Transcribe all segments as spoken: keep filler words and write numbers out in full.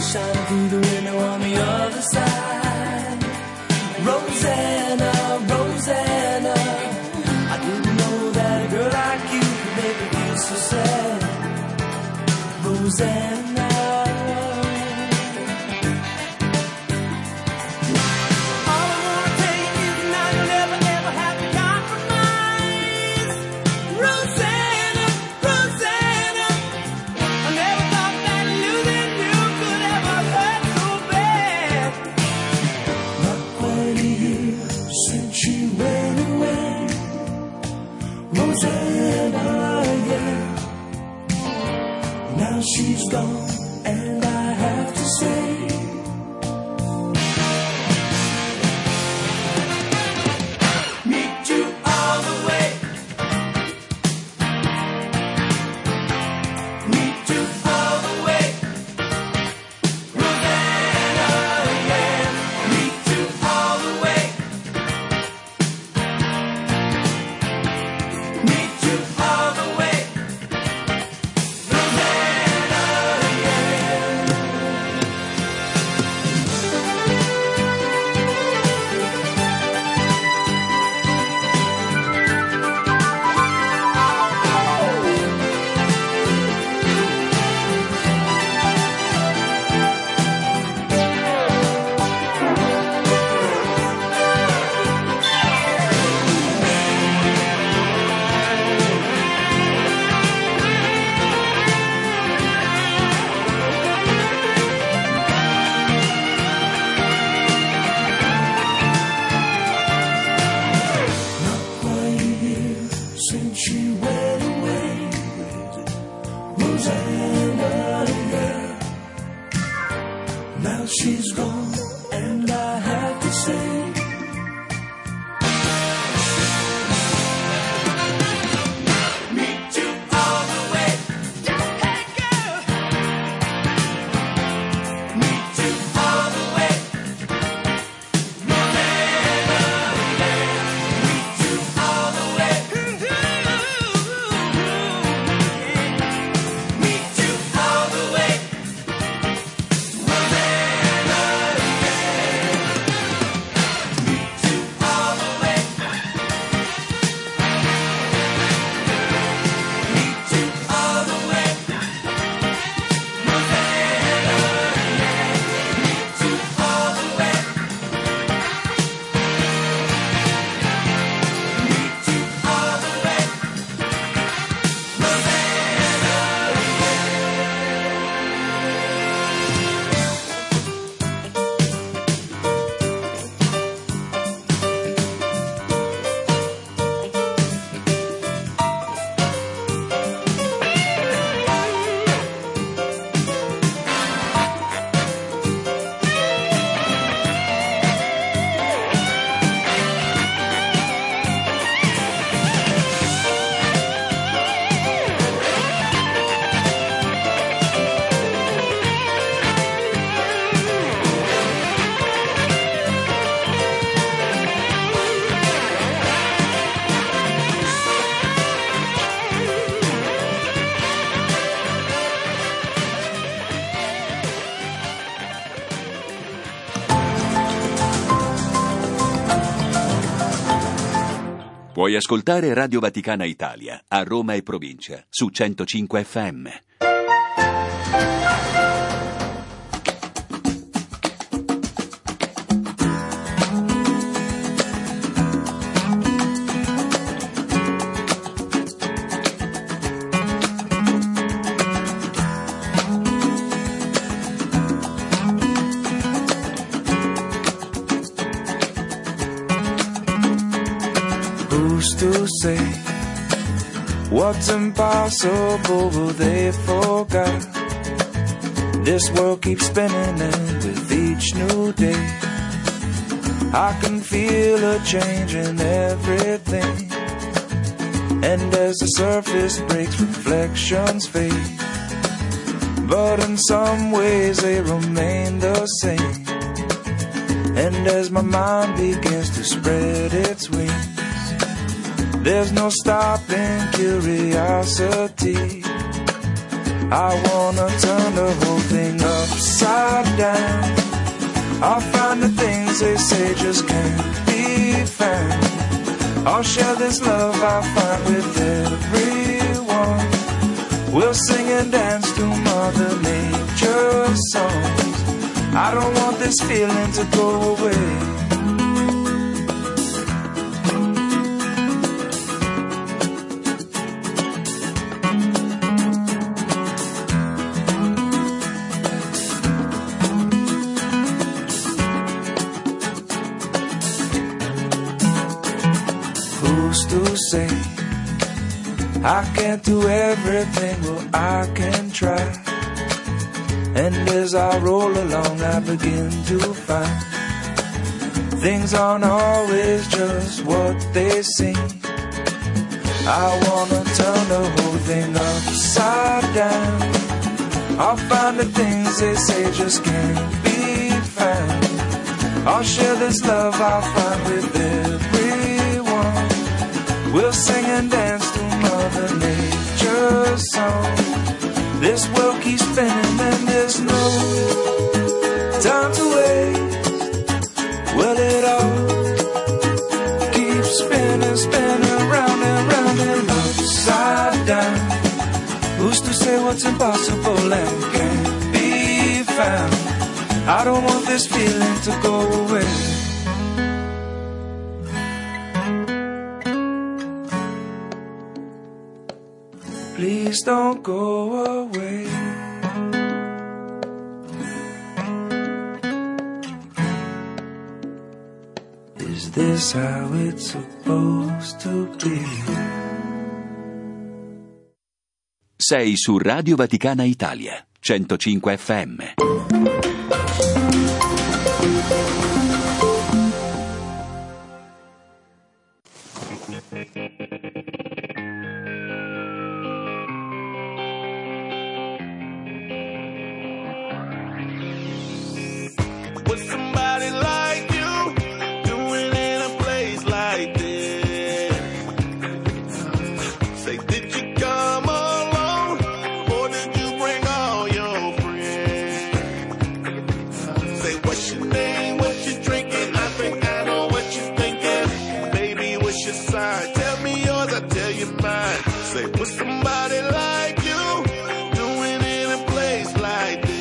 shining through the window on the other side. Rosanna, Rosanna, I didn't know that a girl like you could make me feel so sad. Rosanna. She's gone, and I have to say, meet you all the way, meet you all the way, Rosanna, yeah, meet you all the way, meet you all the way. She's gone, and I have to say, meet you all the way, hey girl, meet you all the way, Rosanna, meet you all the way, meet you all the way. Puoi ascoltare Radio Vaticana Italia a Roma e provincia su centocinque effe emme. Who's to say what's impossible will they forget? This world keeps spinning, and with each new day I can feel a change in everything. And as the surface breaks, reflections fade, but in some ways they remain the same. And as my mind begins to spread its wings, there's no stopping curiosity. I wanna turn the whole thing upside down. I'll find the things they say just can't be found. I'll share this love I find with everyone. We'll sing and dance to Mother Nature's songs. I don't want this feeling to go away. Who's to say I can't do everything? Well, I can try. And as I roll along, I begin to find things aren't always just what they seem. I wanna turn the whole thing upside down. I'll find the things they say just can't be found. I'll share this love I find with everyone. We'll sing and dance to Mother Nature's song. This world keeps spinning and there's no time to waste. Well, it all keeps spinning, spinning round and round and upside down. Who's to say what's impossible and can't be found? I don't want this feeling to go away. Please don't go away. Is this how it's supposed to be? Sei su Radio Vaticana Italia, centocinque F M. With somebody like you doing in a place like this? Say, did you come alone or did you bring all your friends? Say, what's your name, what you drinking? I think I know what you're thinking. Baby, what's your sign? Tell me yours, I tell you mine. Say, with somebody like you doing in a place like this?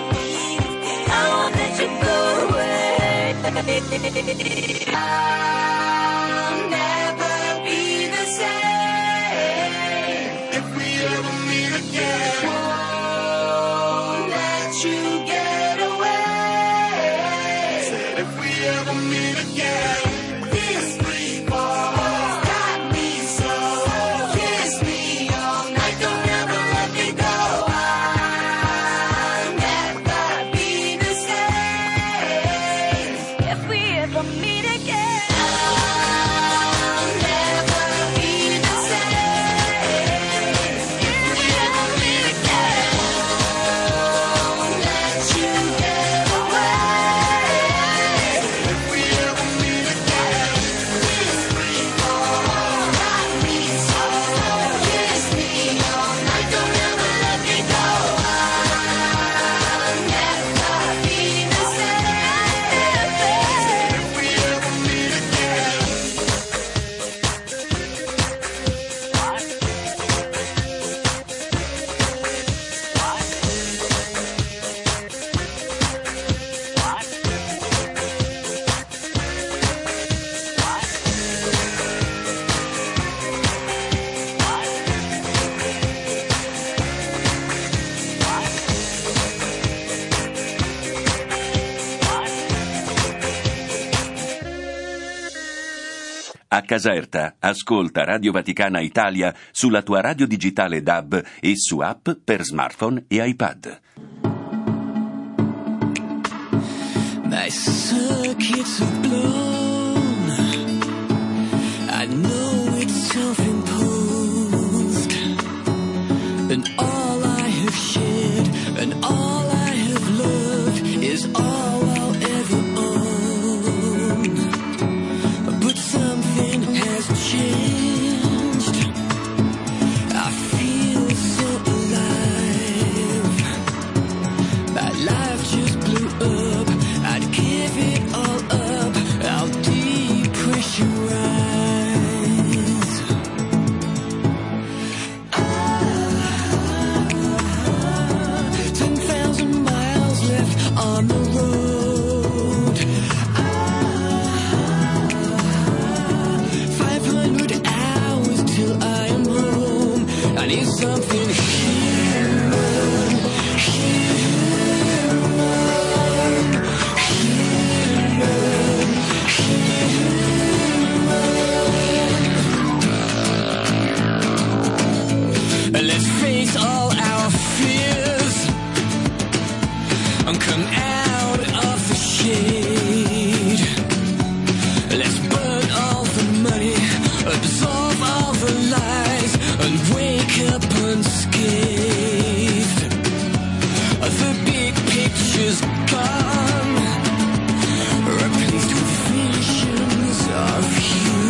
Ah. again. Won't let you get away. Said if we ever meet again, this free fall got me so. Kiss me all night, don't ever let me go. I'll never be the same. If we ever meet again, I'll never be the same. If we ever meet again, won't let you get away. If we ever meet again, this free fall got me so. Kiss me all night, don't ever let me go. I'll never be the same. If we ever meet again. A Caserta, ascolta Radio Vaticana Italia sulla tua radio digitale D A B e su app per smartphone e iPad. My circuits are blown. I know it's self-imposed. And all I have shared and all I have loved is all I'll ever own. But something has changed. I feel so alive. My life just blew up. I'd give it all up. I'll depressurize. Ah, ten thousand miles left on the road. Ah, five hundred hours till I am home. I need something human, human, human, human. Let's face all our fears and come out of the shade. Let's burn all the money, absorb all the lies, and wake up unscathed. The big picture's gone, replaced with visions of you.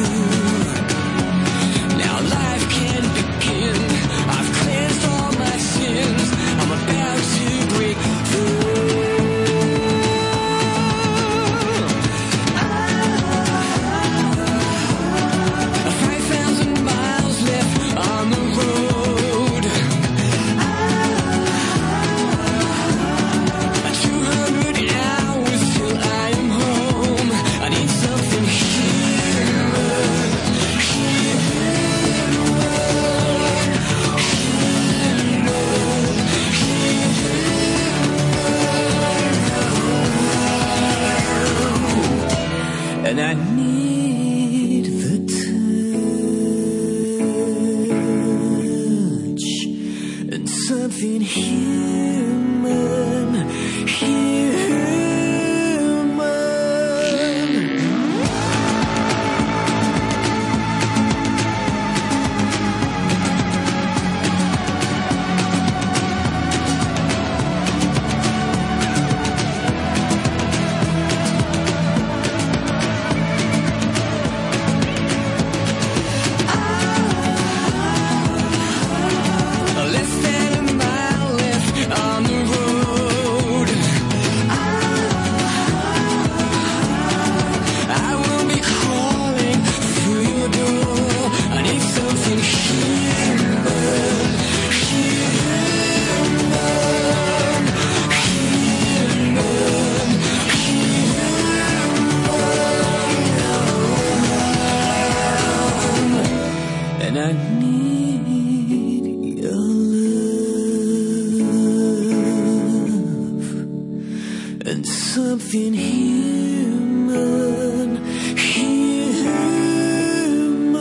Now life can begin. I've cleansed all my sins. I'm about to break through. Five thousand miles left on the road. Two hundred hours till I am home. I need something human, human, and I need the touch and something human, human. Less than a mile left nothing human, human.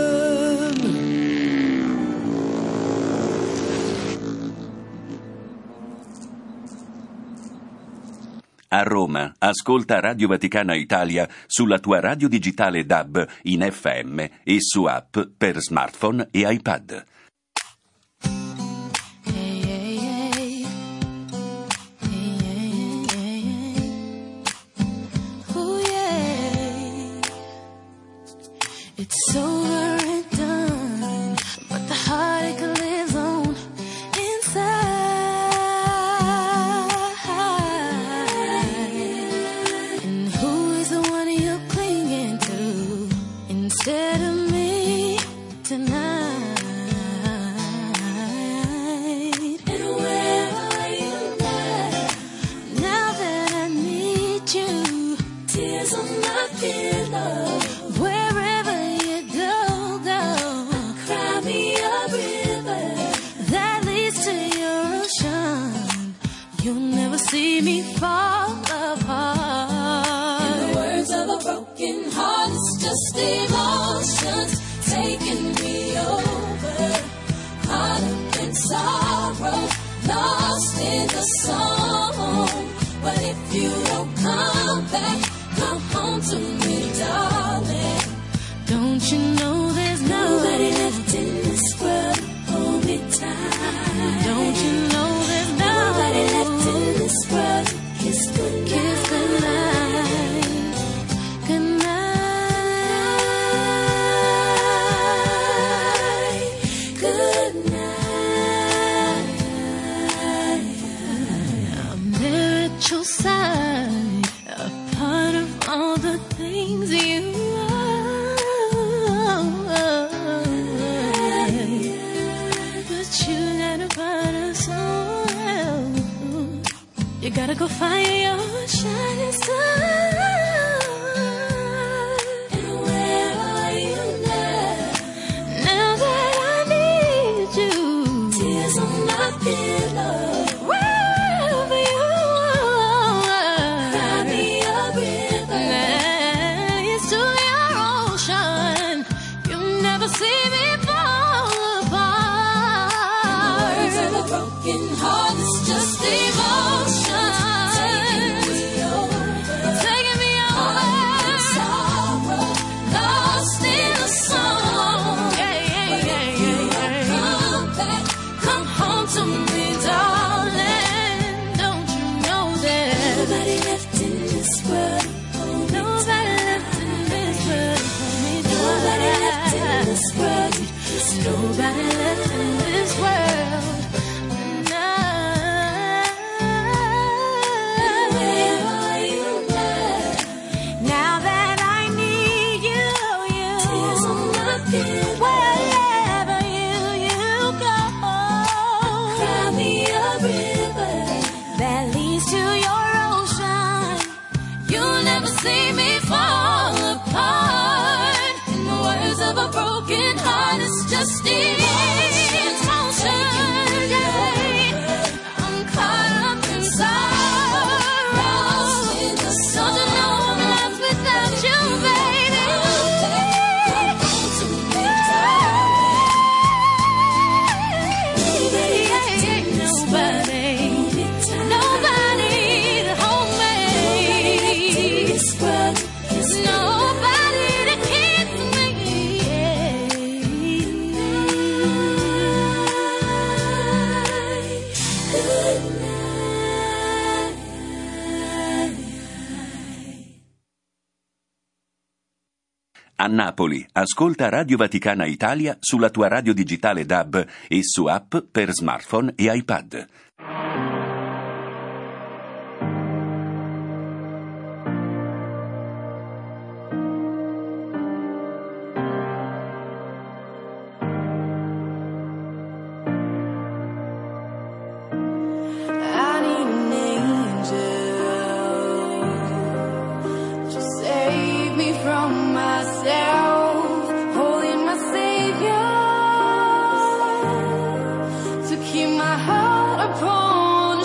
A Roma, ascolta Radio Vaticana Italia sulla tua radio digitale D A B in F M e su app per smartphone e iPad. It's over and done, but the heartache lives on inside. And who is the one you're clinging to instead of me tonight? And where are you now? Now that I need you, tears on my pillow. See me fall apart. In the words of a broken heart, it's just emotions taking me over. Caught up in sorrow, lost in the song. But if you don't come back, come home to me, darling. Don't you know there's nobody left in this world? Hold me tight. Don't you know there's nobody left in this world? Kiss goodnight. Kiss goodnight. Goodnight. Goodnight. I'm there at your side, a part of all the things you are. But you're not a part of someone else. You gotta go find your shining star. And where are you now? Now that I need you, tears on my pillow. Wherever you are, cry me a river. Next to your ocean, you never see me fall apart. The words of a broken heart, it's just emotion. Nobody left in this world tonight. Where are you now? Now that I need you, you. Tears on my pillow. Wherever you, you go, cry me a river that leads to your ocean. You'll never see me fall apart. In the words of a broken heart, it's just emotion. I'm caught up in sorrow. Don't you know I'm lost without you, baby? Nobody, nobody to hold me. Nobody to kiss me. A Napoli, ascolta Radio Vaticana Italia sulla tua radio digitale D A B e su app per smartphone e iPad. I need an angel to save me from myself, holding my Savior, to keep my heart upon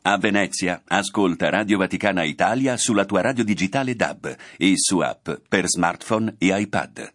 A Venezia, ascolta Radio Vaticana Italia sulla tua radio digitale D A B e su app per smartphone e iPad.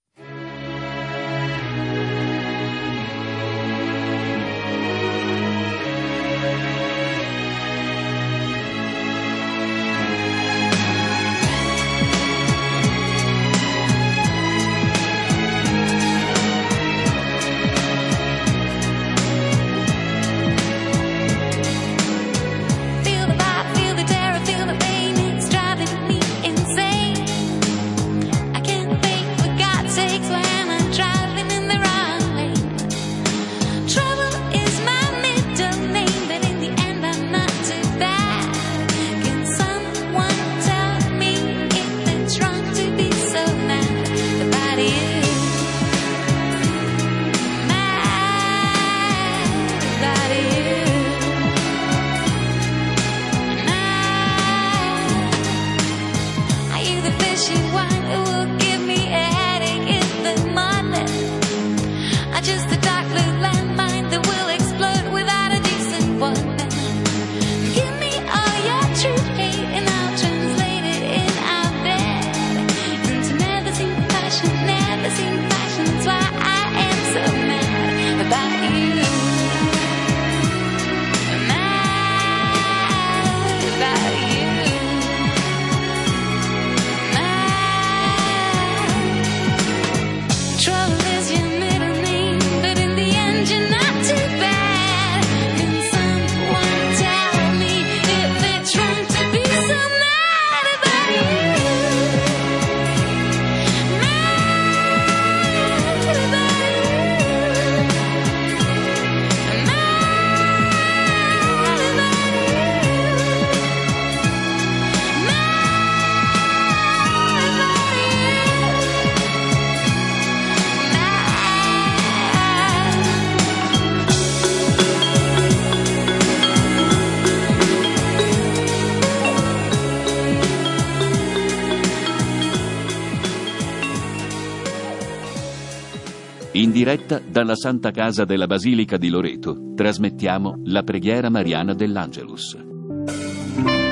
In diretta dalla Santa Casa della Basilica di Loreto trasmettiamo la preghiera mariana dell'Angelus.